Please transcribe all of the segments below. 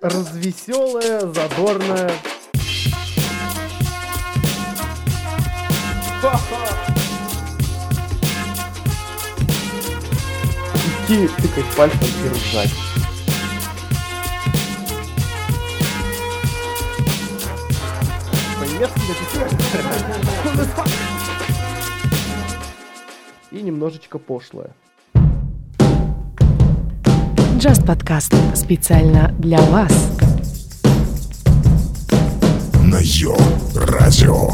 развеселая, задорная. Идти тыкать пальцем и ржать. И немножечко пошлое. Just подкаст специально для вас. На Йо-Радио.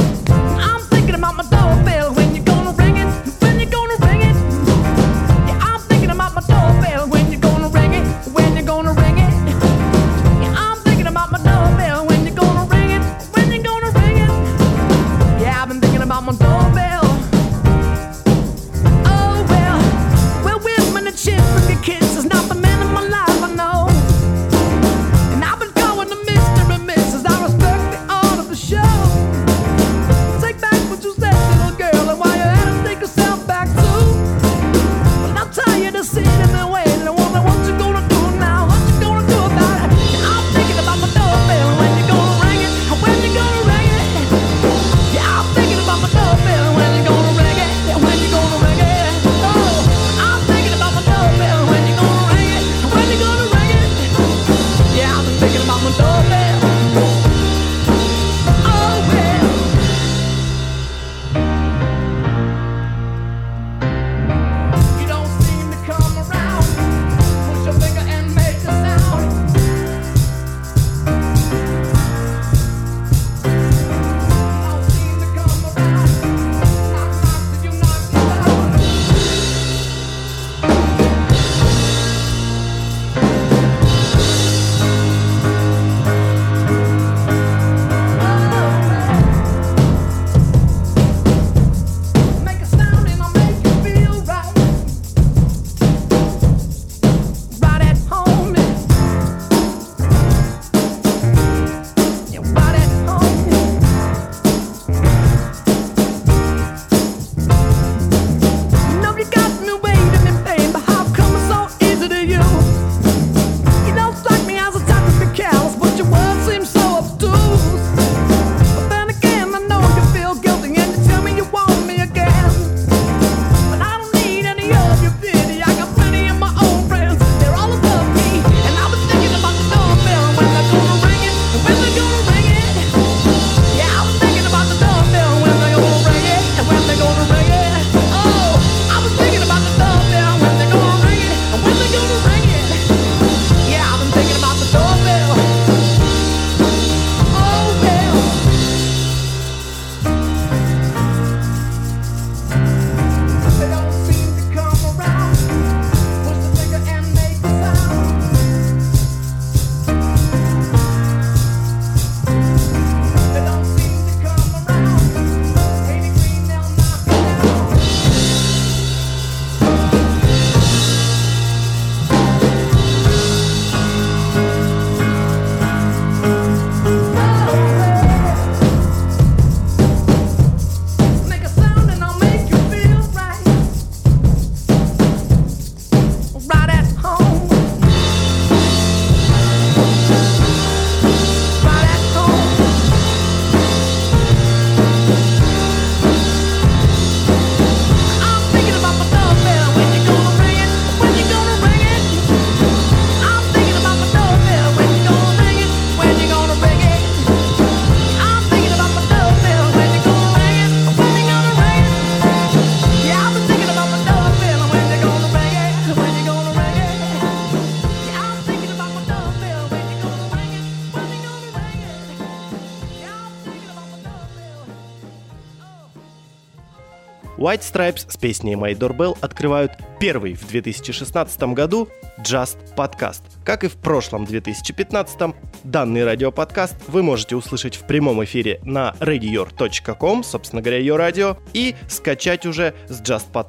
White Stripes с песней My Doorbell открывают первый в 2016 году Just подкаст. Как и в прошлом 2015, данный радиоподкаст вы можете услышать в прямом эфире на radior.com, собственно говоря, ее радио, и скачать уже с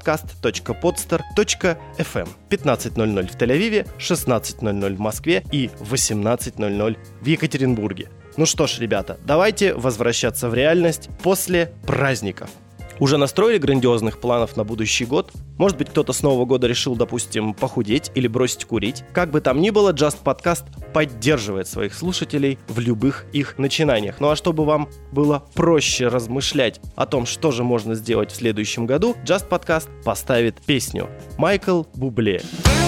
justpodcast.podster.fm. 15:00 в Тель-Авиве, 16:00 в Москве и 18:00 в Екатеринбурге. Ну что ж, ребята, давайте возвращаться в реальность после праздников. Уже настроили грандиозных планов на будущий год? Может быть, кто-то с Нового года решил, допустим, похудеть или бросить курить? Как бы там ни было, Just Podcast поддерживает своих слушателей в любых их начинаниях. Ну а чтобы вам было проще размышлять о том, что же можно сделать в следующем году, Just Podcast поставит песню Майкл Бубле.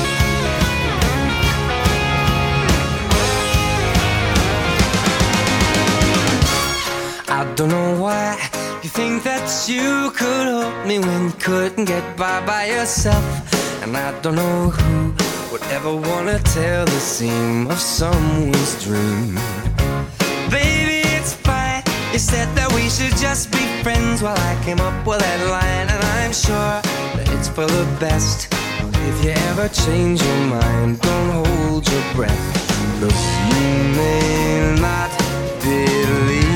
I don't know why you think that you could help me when you couldn't get by yourself. And I don't know who would ever wanna tell the seam of someone's dream. Baby, it's fine. You said that we should just be friends while I came up with that line. And I'm sure that it's for the best. If you ever change your mind, don't hold your breath. Look, you may not believe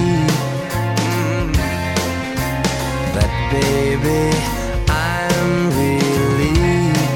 that, baby, I'm relieved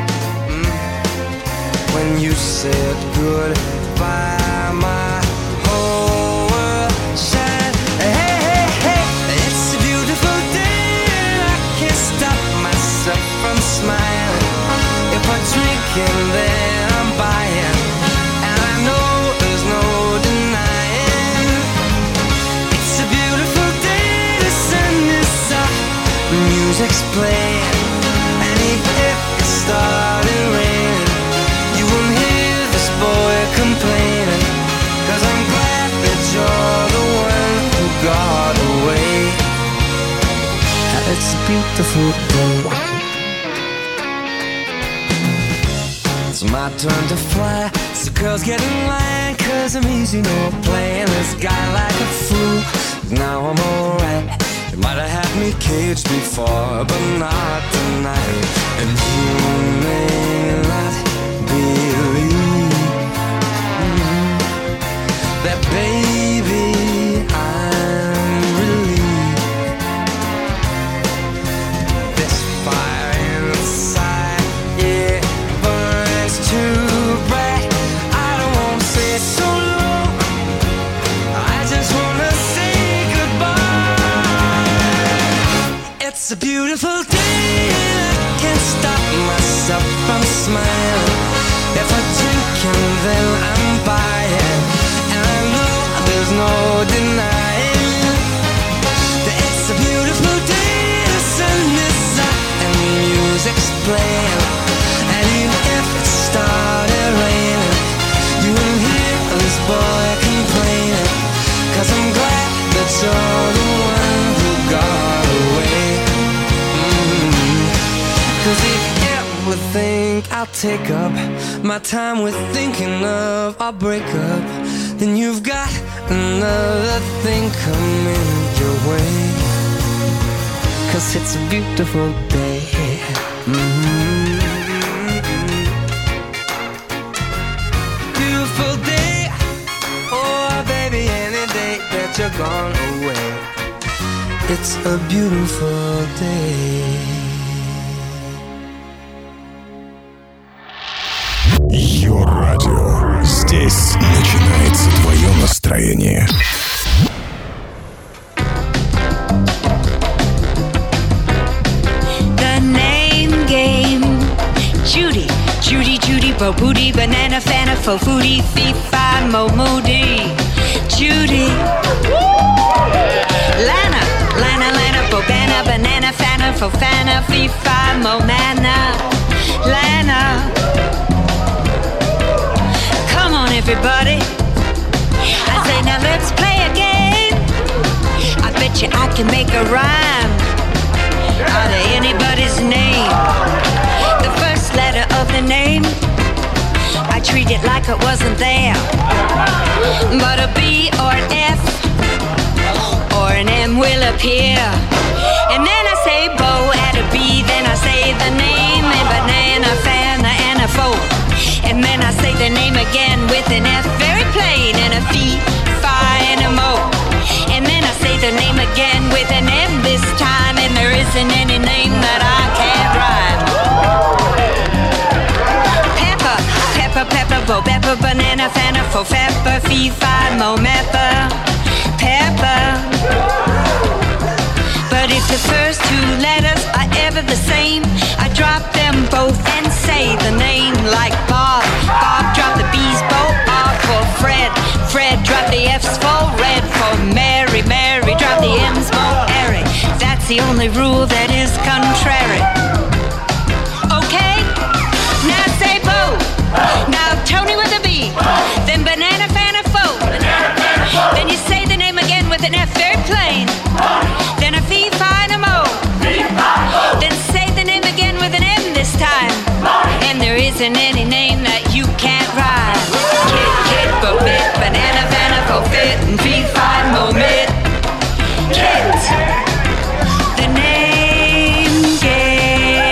when you said goodbye, my whole world shined. Hey, hey, hey, it's a beautiful day and I can't stop myself from smiling. If I drink and then I'm buying, and I know there's no denying. It's a beautiful day, the sun is up, the music's playing, and even if it started raining, you won't hear this boy complaining, 'cause I'm glad that you're the one who got away. It's a beautiful day. It's my turn to fly, so girls get in line, 'cause I'm easy, no playing this guy like a fool. Now I'm alright. You might have had me caged before, but not tonight. And you may not believe that, baby, I'm relieved. This fire inside, yeah, burns too bright. I don't wanna say so long, I just wanna say goodbye. It's a beautiful day and I can't stop myself from smiling. If I drink and then I'm buying, and I know there's no denying that it's a beautiful day, the sun is up and the music's playing, and even if it started raining, you won't hear this boy complaining, 'cause I'm glad that you're the one who got away. 'Cause if you ever think I'll take up my time with thinking of our breakup, then you've got another thing coming your way. 'Cause it's a beautiful day. Beautiful day. Oh, baby, any day that you're gone away. It's a beautiful day. Йо-радио. Здесь начинается твое настроение. The name game. Judy, Judy, Judy, Bo Booty, Banana, Fana, Fo Foodie, Fee, Fi, Mo Moody. Judy. Lana, Lana, Lana, Bobana, Banana, Fana, Fo Fana, Fee, Fi, Mo Mana. Lana. Come on, everybody. I say, now let's play a game. I bet you I can make a rhyme out of anybody's name. The first letter of the name, I treat it like it wasn't there. But a B or an F or an M will appear. And then I say Bo at a B, then I say the name, and banana, fana, and a fo. And then I say the name again with an F, very plain, and a fee, fi, and a mo. And then I say the name again with an M this time, and there isn't any name that I can't rhyme. Pepper, pepper, pepper, bo, pepper, banana, fana, fo, pepper, fee, fi, mo, mepper, pepper. But If the first two letters are ever the same, I drop them both and say the name. Like Bob, Bob drop the B's both. R for Fred, Fred drop the F's for red. For Mary, Mary drop the M's for Eric. That's the only rule that is contrary. Okay? Now say Bo. Now Tony with a B. Then Banana Fana Fo. Then you say the name again with an F very plain. Then a Fee Fi and a Mo. Then say the name again with an M this time. And there isn't any name that you can't rhyme. Kid, kid, bo bit, banana, banana, bo fit, and Fee Fi Mo mit. Kid, the name game.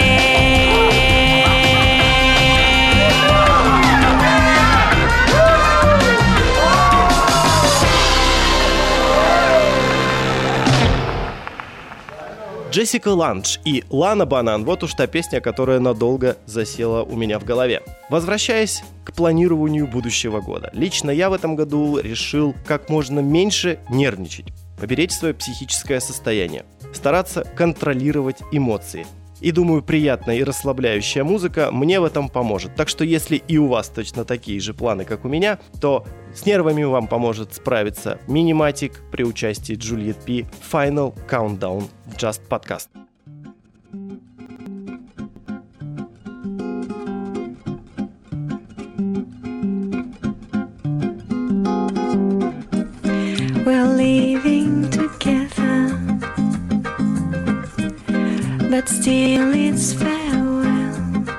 Джессика Ланж и Лана Банан – вот уж та песня, которая надолго засела у меня в голове. Возвращаясь к планированию будущего года. Лично я в этом году решил как можно меньше нервничать, поберечь свое психическое состояние, стараться контролировать эмоции. И думаю, приятная и расслабляющая музыка мне в этом поможет. Так что если и у вас точно такие же планы, как у меня, то с нервами вам поможет справиться Миниматик при участии Juliet P. Final Countdown в Just Podcast. We're living together, but still it's farewell.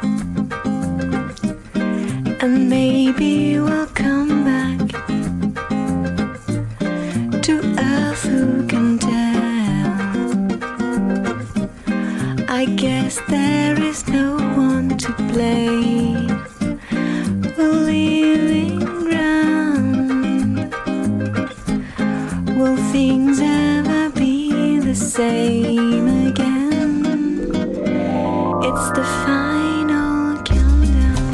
And maybe we'll come back to earth, who can tell? I guess there is no one to blame. We're living round. Will things ever be the same again? It's the final countdown.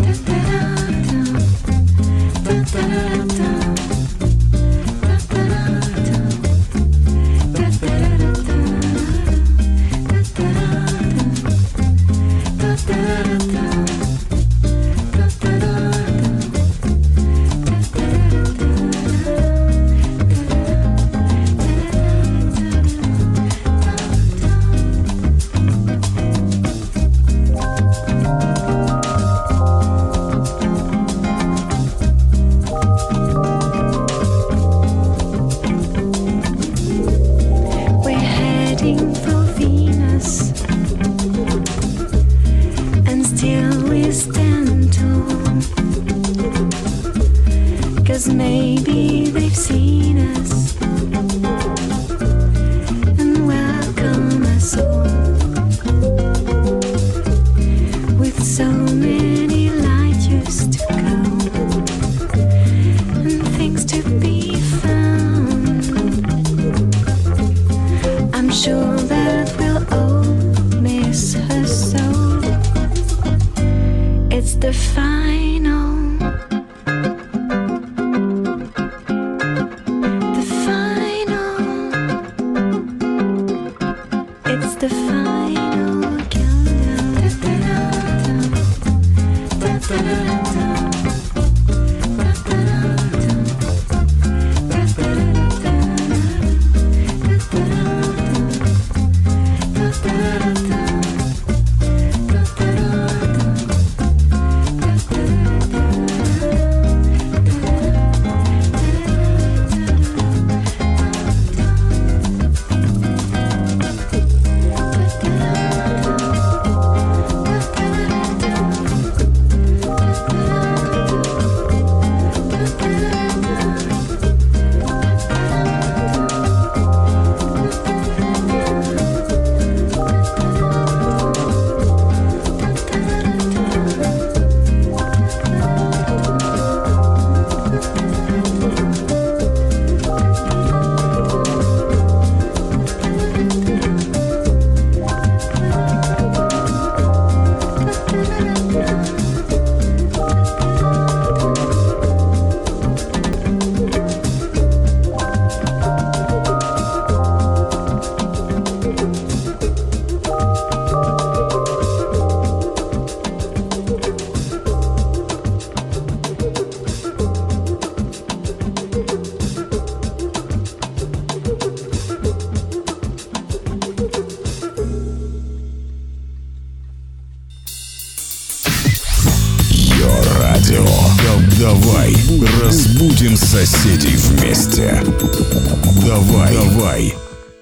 We're heading for Venus, and still we stand tall. 'Cause maybe they've seen us and welcome us all with so many light years to go and things to be found. I'm sure that we'll all miss her so. It's the final. The final. It's the final countdown. Йо-радио. Давай разбудим соседей вместе. Давай.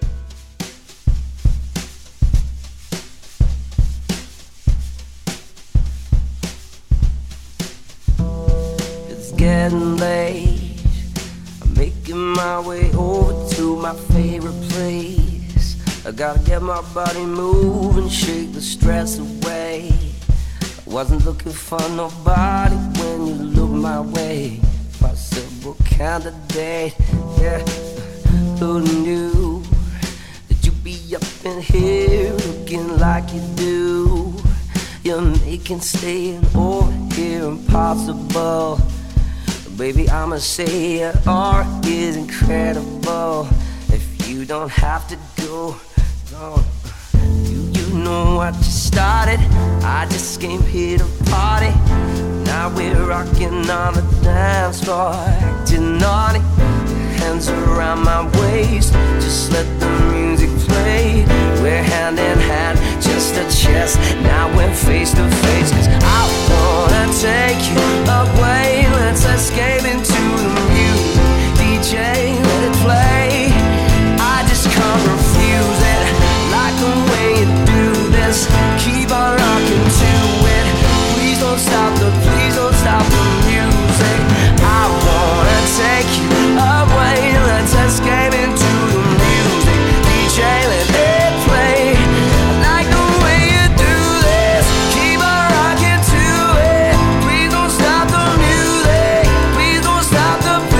It's getting late. I'm making my way over to my favorite place. I gotta get my body moving, shake the stress away. I wasn't looking for nobody when you look my way. Possible candidate, yeah. Who knew that you'd be up in here looking like you do? You're making staying over here impossible. Baby, I'ma say your art is incredible. If you don't have to go, don't. You know what you started. I just came here to party. Now we're rocking on the dance floor, acting naughty. Hands around my waist, just let the music play. We're hand in hand, just a chest. Now we're face to face. 'Cause I wanna take you away. Let's escape into the music. DJ, let it play. I just can't refuse it. Like the way you do this. Keep on rocking to it. Please don't stop the music. I wanna take you away. Let's escape into the music. DJ, let it play. I like the way you do this. Keep on rocking to it. Please don't stop the music. Please don't stop the music.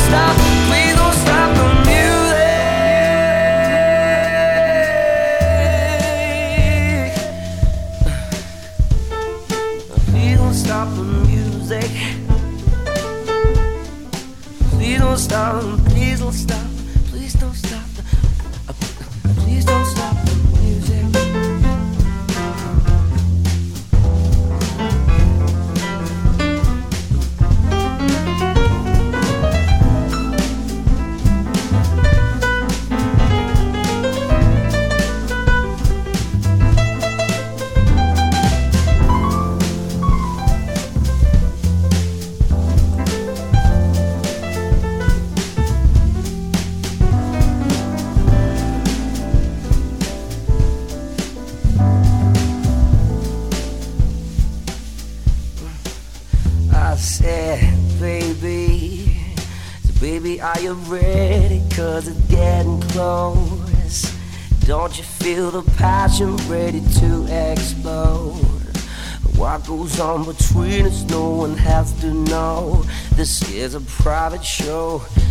Please don't stop the music. Please don't stop, please don't stop, please don't stop please don't stop the music. I said, baby, are you ready? 'Cause it's getting close. Don't you feel the passion ready to explode? What goes on between us, no one has to know. This is a private show.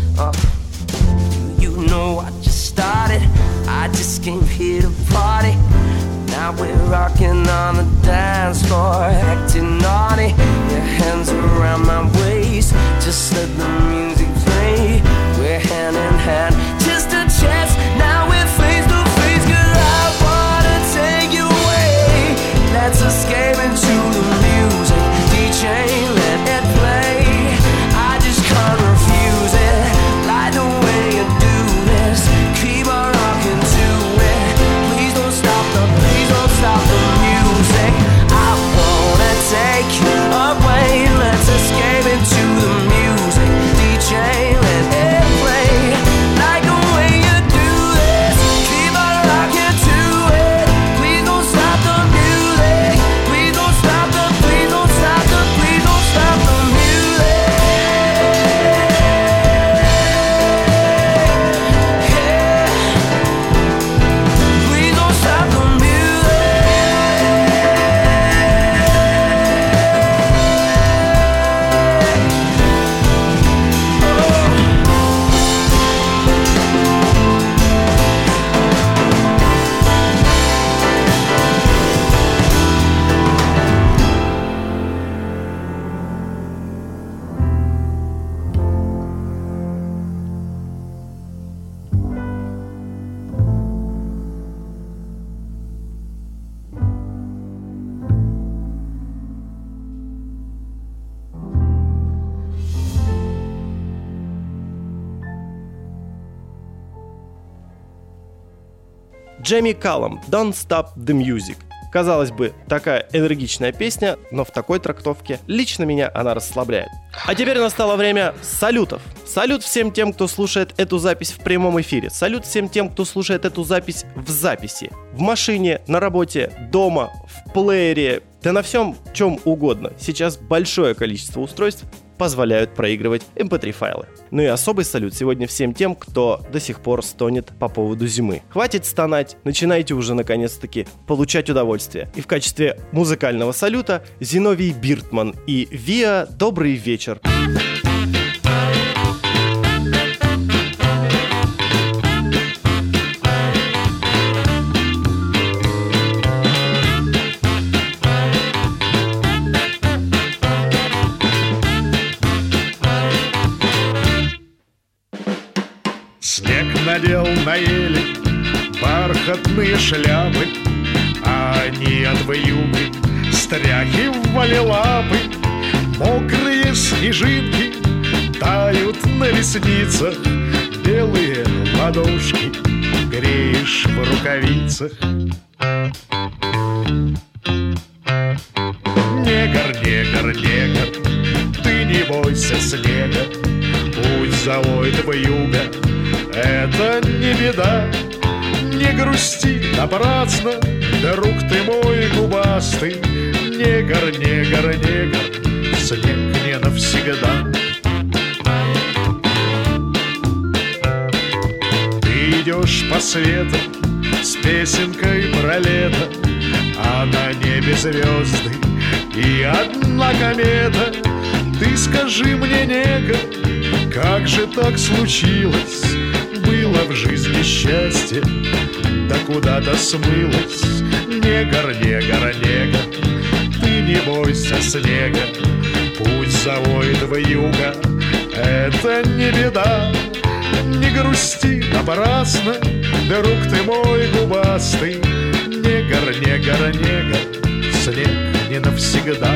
You know I just started. I just came here to party. Now we're rocking on the dance floor, acting naughty. Your hands around my waist, just let the music play. We're hand in hand, just a chance. Now we're face to face. 'Cause I wanna take you away. Let's escape into the music. DJ, let it play. I just can't refuse it. Like the way you do this. Keep on rocking to it. Please don't stop the music. I wanna take you away. Let's escape into the music. DJ, Джейми Каллам «Don't Stop the Music». Казалось бы, такая энергичная песня, но в такой трактовке лично меня она расслабляет. А теперь настало время салютов. Салют всем тем, кто слушает эту запись в прямом эфире. Салют всем тем, кто слушает эту запись в записи. В машине, на работе, дома, в плеере, да на всем, чем угодно. Сейчас большое количество устройств позволяют проигрывать MP3-файлы. Ну и особый салют сегодня всем тем, кто до сих пор стонет по поводу зимы. Хватит стонать, начинайте уже наконец-таки получать удовольствие. И в качестве музыкального салюта Зиновий Биртман и Виа «Добрый вечер». Снег надел на ели бархатные шляпы, а они от вьюги стряхивали лапы. Мокрые снежинки тают на ресницах, белые ладошки греешь в рукавицах. Негр, негр, негр, ты не бойся снега, путь завоет вьюга, это не беда. Не грусти напрасно, друг ты мой губастый. Негр, негр, негр, снег не навсегда. Ты идешь по свету с песенкой про лето, а на небе звезды и одна комета. Ты скажи мне, негр, как же так случилось? Было в жизни счастье, да куда-то смылось. Негр, негр, негр, ты не бойся снега, путь завоет вьюга, это не беда. Не грусти напрасно, друг ты мой губастый. Негр, негр, негр, снег не навсегда.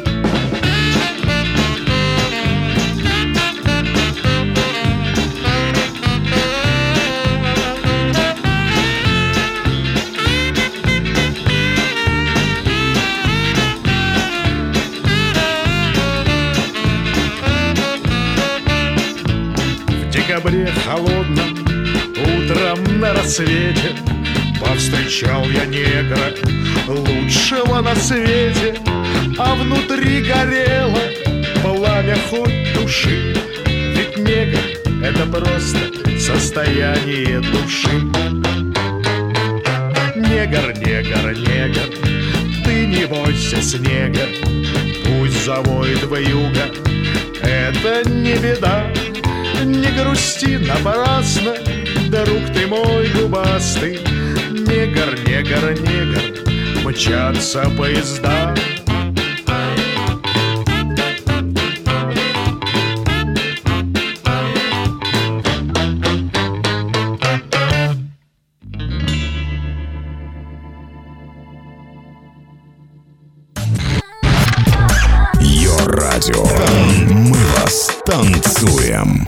В декабре холодном, утром на рассвете повстречал я негра, лучшего на свете. А внутри горело пламя хоть души, ведь негр — это просто состояние души. Негр, негр, негр, ты не бойся снега, путь завоет вьюга, это не беда. Не грусти напрасно, друг ты мой губастый. Негр, негр, негр, мчатся поезда. Йо-радио. Мы вас танцуем.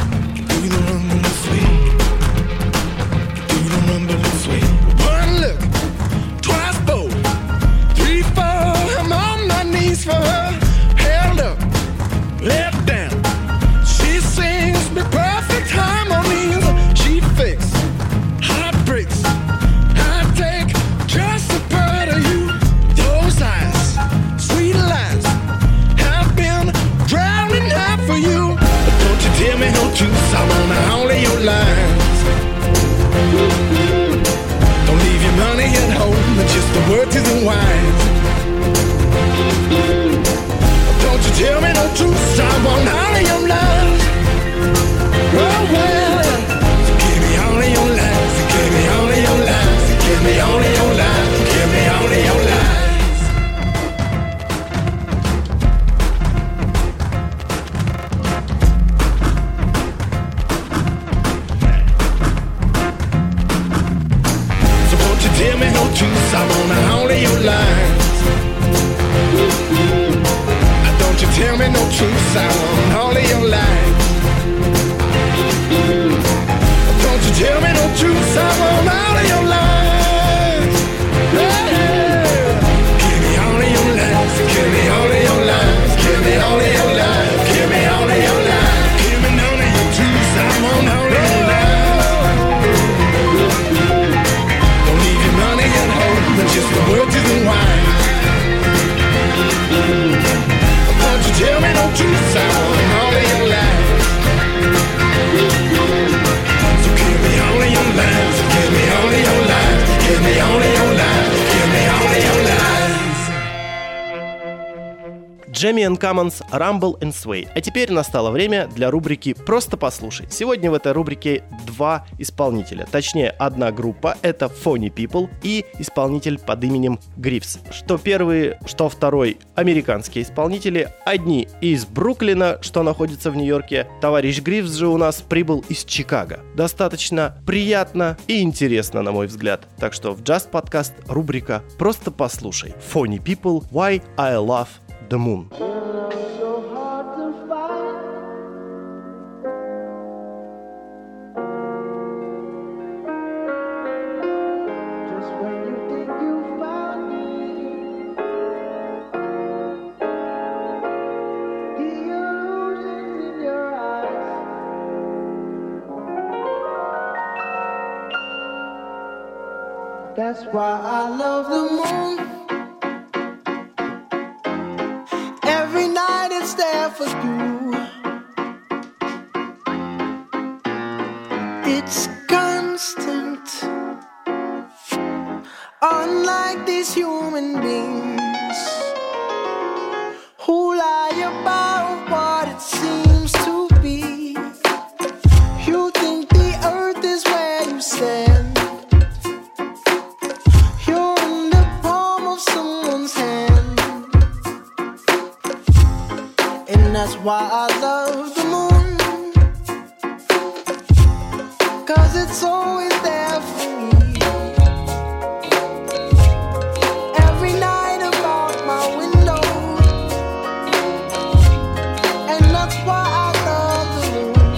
One look me all of your lies. Give me all of your lies. So won't you tell me no truth? I wanna all of your lies. Don't you tell me no truth? I want all of your lies. Don't you tell me no truth? I want all of your lies. Yeah. Give me all of your lies. Give me all of your lies. Give me all of your lies. Give me all of your lies. Give me none of your truth. I want all of your lies. Don't need your money and hope, but just the words and wine. Don't you tell me no truth, I want all of your lies. So give me all of your lies, give me all of your lies, give me all of your lies, give me all of your lies. Jamie and Commons, Rumble and Sway. А теперь настало время для рубрики «Просто послушай». Сегодня в этой рубрике два исполнителя. Точнее, одна группа — это Phony People и исполнитель под именем Грифс. Что первый, что второй американские исполнители. Одни из Бруклина, что находится в Нью-Йорке. Товарищ Грифс же у нас прибыл из Чикаго. Достаточно приятно и интересно, на мой взгляд. Так что в Just Podcast рубрика «Просто послушай». Phony People, Why I Love the Moon. That's why I love the moon. Every night it's there for you. It's constant. Unlike these human beings who lie about what it seems to be. You think the earth is where you stand. That's why I love the moon, 'cause it's always there for me. Every night about my window, and that's why I love the moon,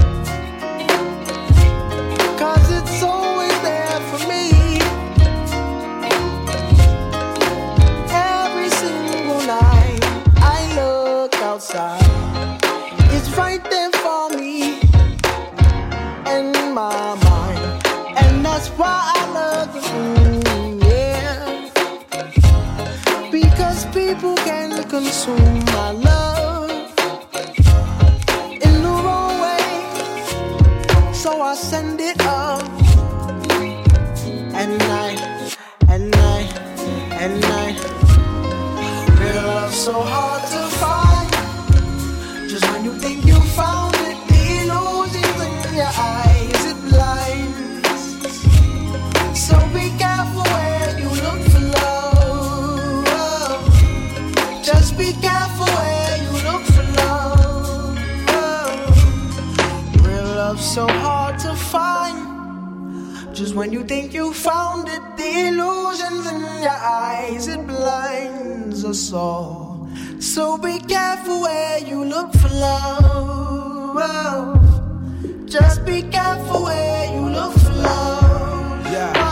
'cause it's always there for me. Every single night I look outside, it's right there for me in my mind, and that's why I love the moon, yeah. Because people can consume my love in the wrong way, so I send it up at night, at night, at night. Real love so hard to find. Just when you think you found it, the illusions in your eyes, it blinds. So be careful where you look for love. Just be careful where you look for love. Real love so hard to find. Just when you think you found it, the illusions in your eyes, it blinds us all. So be careful where you look for love. Just be careful where you look for love.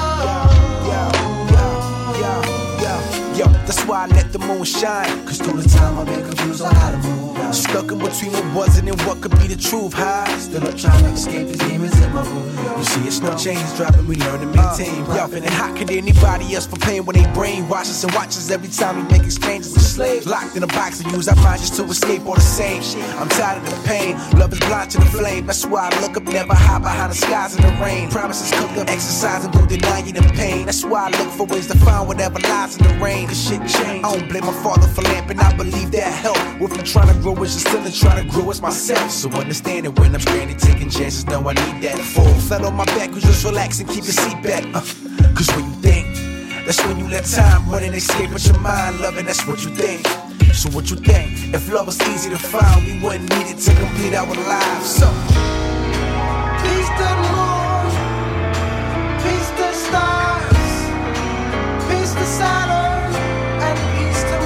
Yo, that's why I let the moon shine. 'Cause through the time I've been confused on how to move. Stuck in between what wasn't and what could be the truth. High, still up trying to escape the demons in my room. You see, it's no chains dropping, we learn to maintain. Yo, and how could anybody else for pain when they brainwash us and watch us every time we make exchanges of slaves? Locked in a box and use our minds just to escape all the same shit. I'm tired of the pain, love is blind to the flame. That's why I look up, never hide behind the skies in the rain. Promises cooked up, exercise and go deny you the pain. That's why I look for ways to find whatever lies in the rain. 'Cause shit changed. I don't blame my father for lamping, I believe that help. With me trying to grow is just still trying to grow as myself. So understand it when I'm stranded, taking chances, know I need that. Full flat on my back, we just relax and keep your seat back. Cause when you think, that's when you let time run and escape with your mind. Loving, that's what you think. So what you think? If love was easy to find, we wouldn't need it to complete our lives. So peace to the moon, peace to the stars, peace to Saturn, and peace to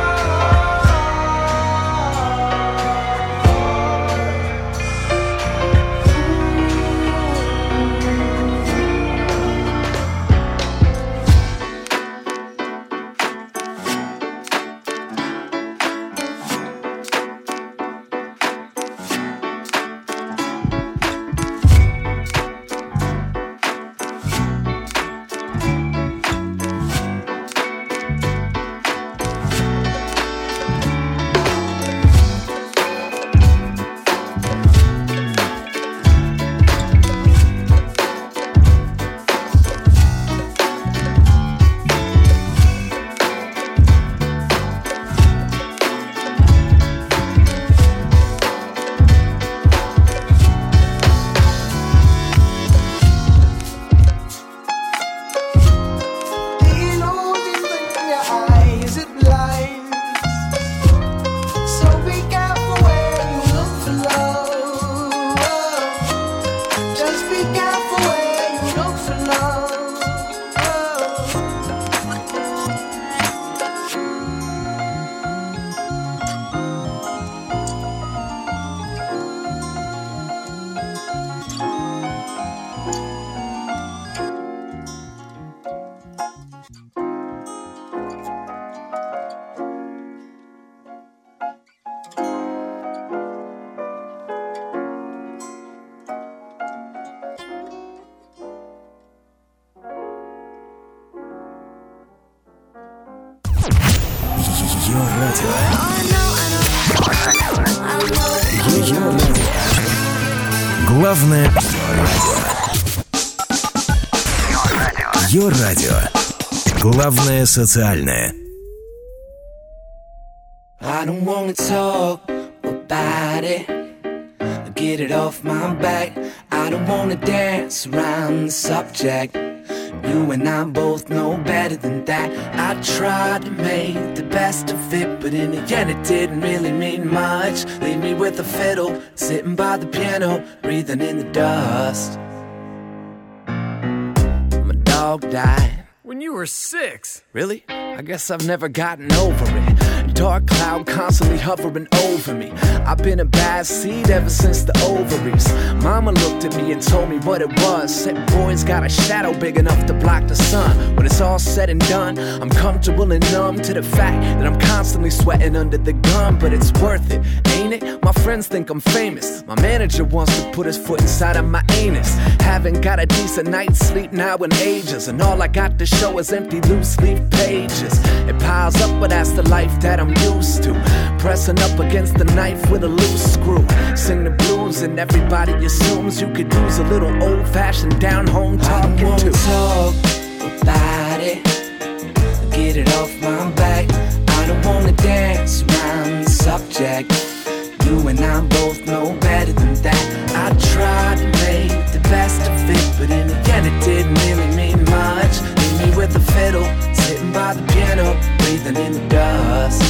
Главное Йо-радио. Главное социальное. I don't wanna talk about it, get it off my back. I don't wanna dance around the subject. You and I both know better than that. I tried to make the best of it, but in the end it didn't really mean much. Leave me with a fiddle, sitting by the piano, breathing in the dust. My dog died when you were 6. Really? I guess I've never gotten over it. Dark cloud constantly hovering over me. I've been a bad seed ever since the ovaries. Mama looked at me and told me what it was. Said boy's got a shadow big enough to block the sun. When it's all said and done, I'm comfortable and numb to the fact that I'm constantly sweating under the gun. But it's worth it, ain't it? My friends think I'm famous. My manager wants to put his foot inside of my anus. Haven't got a decent night's sleep now in ages, and all I got to show is empty loose leaf pages. It piles up, but that's the life that I'm used to. Pressing up against the knife with a loose screw. Sing the blues and everybody assumes you could use a little old-fashioned down-home talking to. I don't wanna talk about it, get it off my back. I don't wanna dance around the subject. You and I both know better than that. I tried to make the best of it, but in the end it didn't really mean much. Leave me with a fiddle, sitting by the piano, breathing in the dust.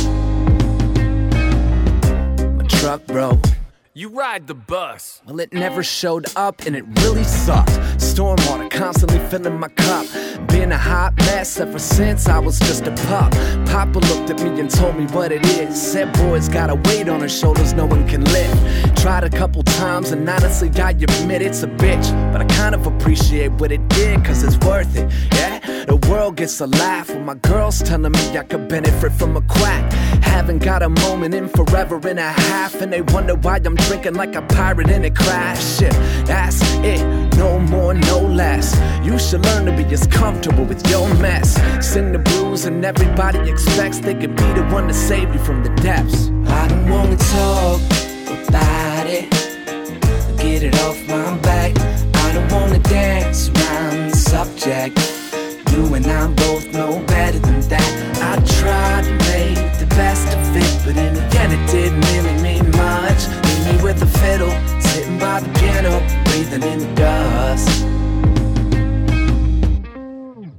My truck broke. You ride the bus. Well, it never showed up and it really sucked. Stormwater constantly filling my cup. Been a hot mess ever since I was just a pup. Papa looked at me and told me what it is. Said boy's got a weight on his shoulders no one can lift. Tried a couple times and honestly I admit it's a bitch, but I kind of appreciate what it did, cause it's worth it. Yeah, the world gets a laugh when my girl's telling me I could benefit from a quack. Haven't got a moment in forever and a half, and they wonder why I'm drinking like a pirate in a crash ship. That's it, no more, no less. You should learn to be as comfortable with your mess. Sing the blues and everybody expects they could be the one to save you from the depths. I don't wanna talk about it, get it off my back. I don't wanna dance around the subject. You and I both know better than that. I tried to make the best of it, but in the end it didn't really mean much. Leave me with a fiddle, sitting by the piano, breathing in the dust.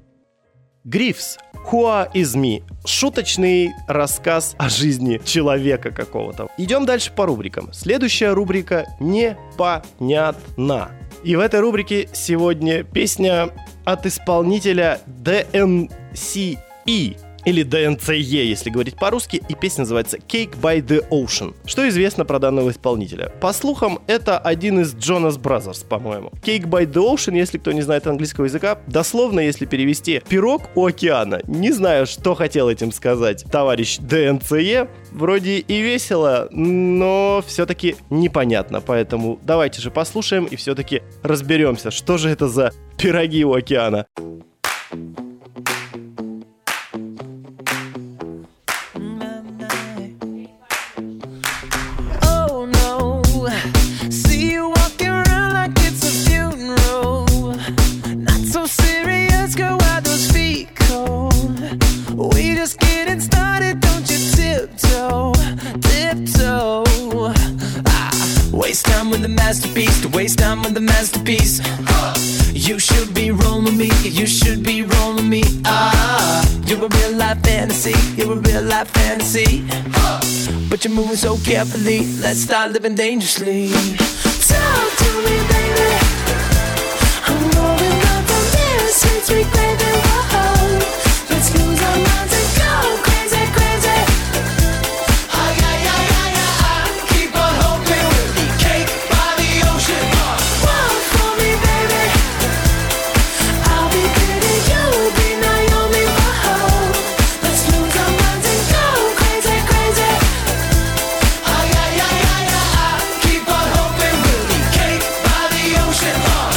Грифс. Who is me? Шуточный рассказ о жизни человека какого-то. Идем дальше по рубрикам. Следующая рубрика «Непонятно». И в этой рубрике сегодня песня от исполнителя DNCE. Или DNCE, если говорить по-русски, и песня называется Cake by the Ocean. Что известно про данного исполнителя? По слухам, это один из Jonas Brothers, по-моему. Cake by the Ocean, если кто не знает английского языка, дословно, если перевести «пирог у океана». Не знаю, что хотел этим сказать товарищ DNCE. Вроде и весело, но все-таки непонятно. Поэтому давайте же послушаем и все-таки разберемся, что же это за пироги у океана. Waste time with the masterpiece, to waste time with the masterpiece. You should be rolling me, you should be rolling me. You're a real life fantasy, you're a real life fantasy. But you're moving so carefully, let's start living dangerously. Talk to me, baby. I'm rolling up on this sweet, sweet baby. Whoa. Let's lose our minds and go crazy, crazy. Keep on hoping we'll be cake by the ocean. Walk for me, baby. I'll be pretty, you'll be Naomi. Whoa. Let's lose our minds and go crazy, crazy. Keep on hoping we'll be cake by the ocean.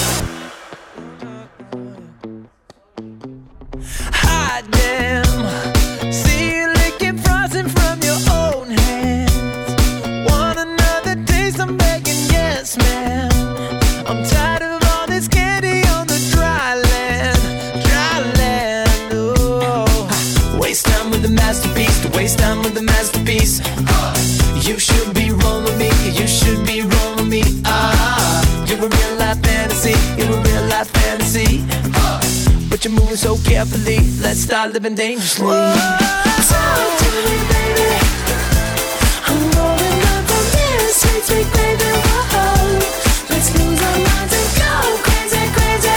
Hot damn. See you licking frosting from your own hands. Want another taste? I'm begging, yes, man. I'm tired of all this candy on the dry land, dry land. Oh, waste time with the masterpiece, to waste time with the masterpiece. You should be rolling me, you should be rolling me. You're a real life fantasy, you're a real life fantasy. But you're moving so carefully, let's start living dangerously. Talk to me, baby. I'm rolling up on this sweet, sweet baby. Whoa. Let's lose our minds and go crazy, crazy.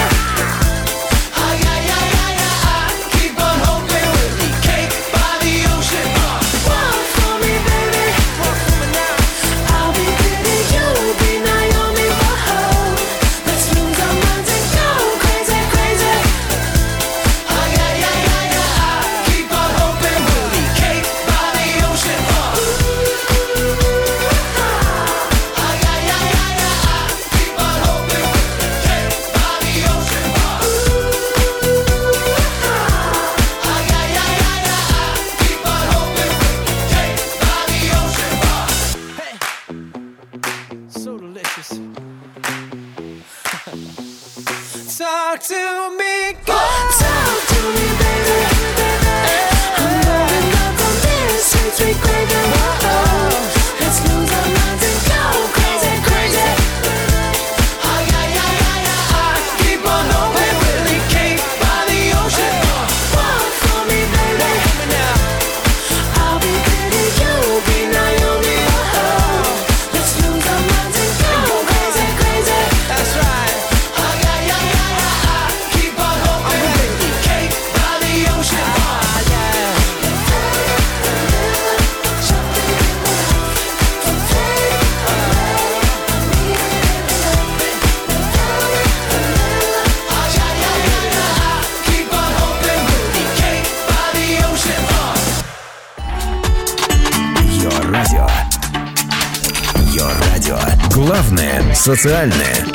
Keep on hoping we'll be cake by the ocean. Walk for me, baby. Walk for me now. I'll be pretty, you'll be Naomi. Whoa. Let's lose our minds and go crazy, crazy. Keep on hoping we'll be cake by the ocean. Keep on hoping we'll be cake by the ocean. Keep on hoping we'll be cake by the ocean. Hey, so delicious. Talk to me, girl. Talk to me, baby. I'm rolling up on this sweet, sweet baby. Whoa. Let's lose our minds and go crazy, crazy. Keep on hoping we'll be cake by the ocean. Walk for me, baby. I'll be pretty, you'll be Naomi. Whoa. Let's lose our minds and go crazy, crazy. That's right. Keep on hoping we'll be cake by the ocean. Keep on hoping we'll be cake by the ocean. Йо радио. Йо радио. Главное социальное.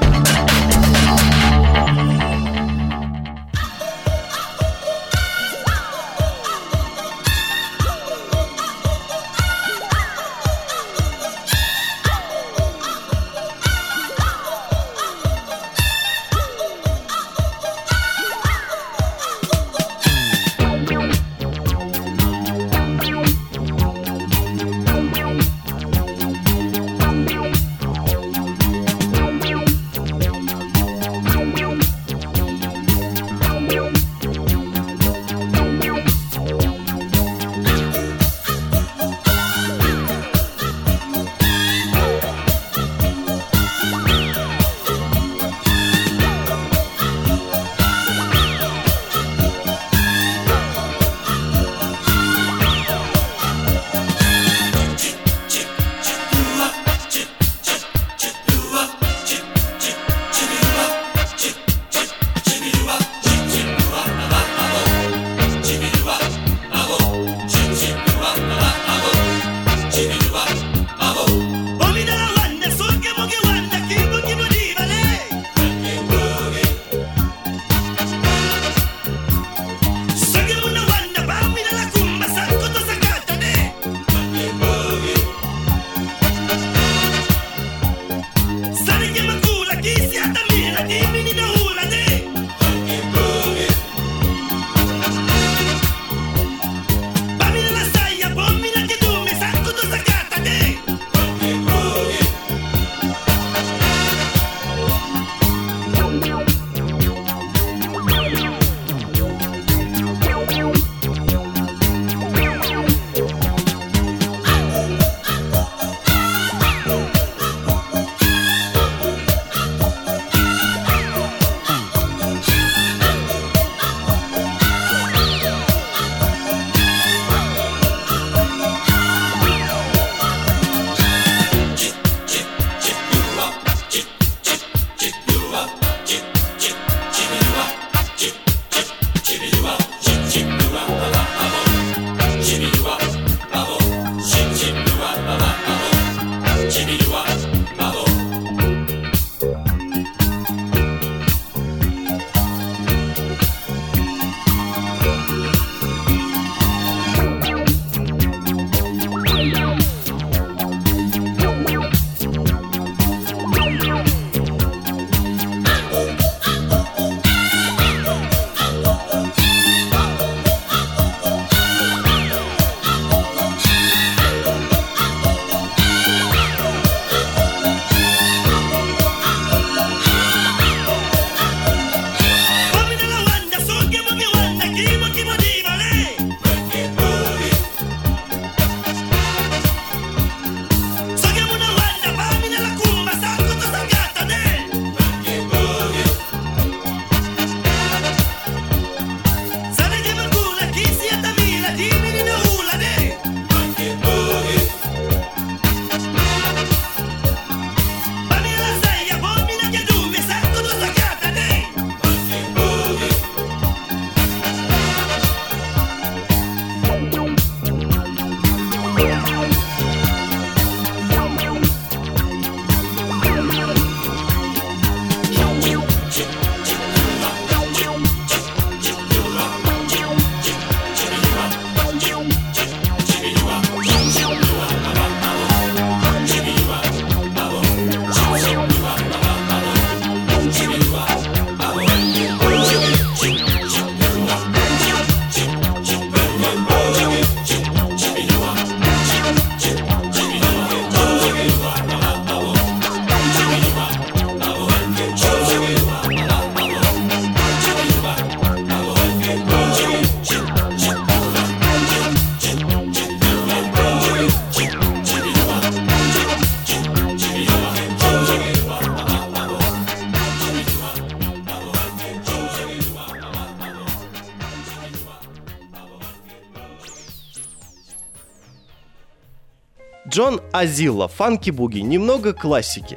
Джон Азилла, «Фанки Буги», немного классики.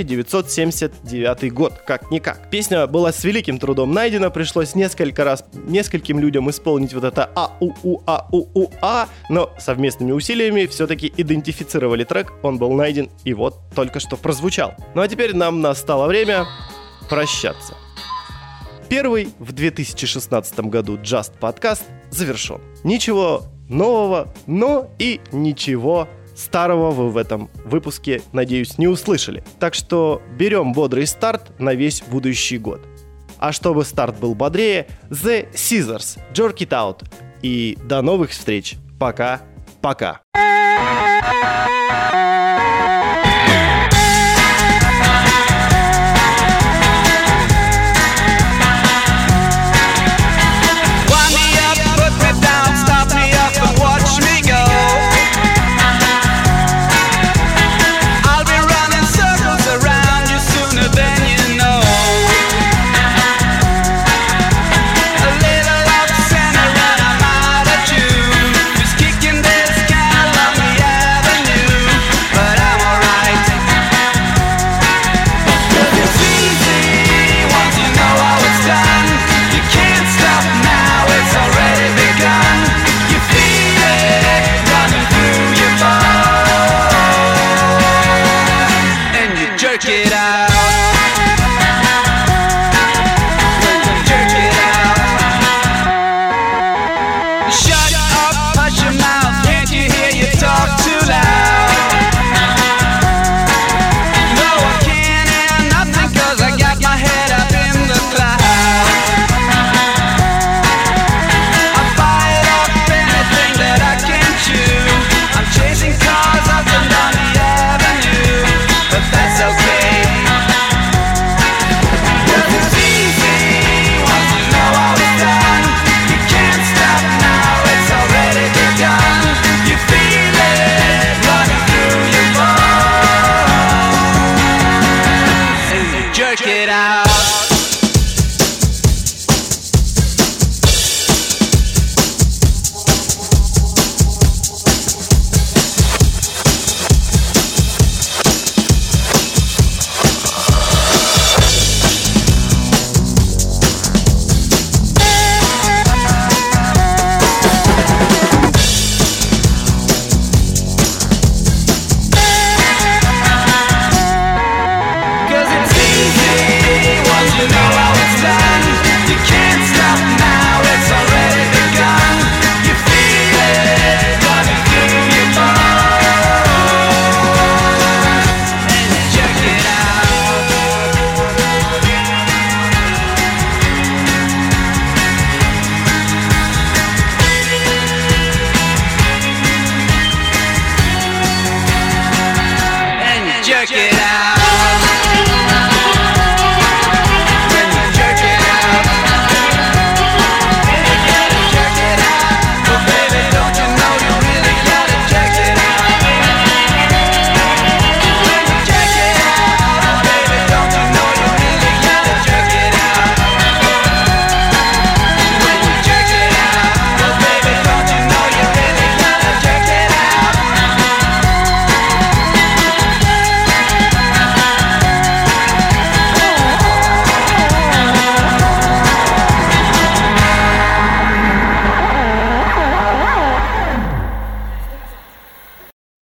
1979 год, как-никак. Песня была с великим трудом найдена, пришлось нескольким людям исполнить вот это а-у-у-а-у-у-а, но совместными усилиями все-таки идентифицировали трек, он был найден и вот только что прозвучал. Ну а теперь нам настало время прощаться. Первый в 2016 году Just подкаст завершен. Ничего нового, но и ничего старого вы в этом выпуске, надеюсь, не услышали. Так что берем бодрый старт на весь будущий год. А чтобы старт был бодрее, The Scissors, Jerk It Out. И до новых встреч. Пока-пока. Kicking this cat along the avenue. house.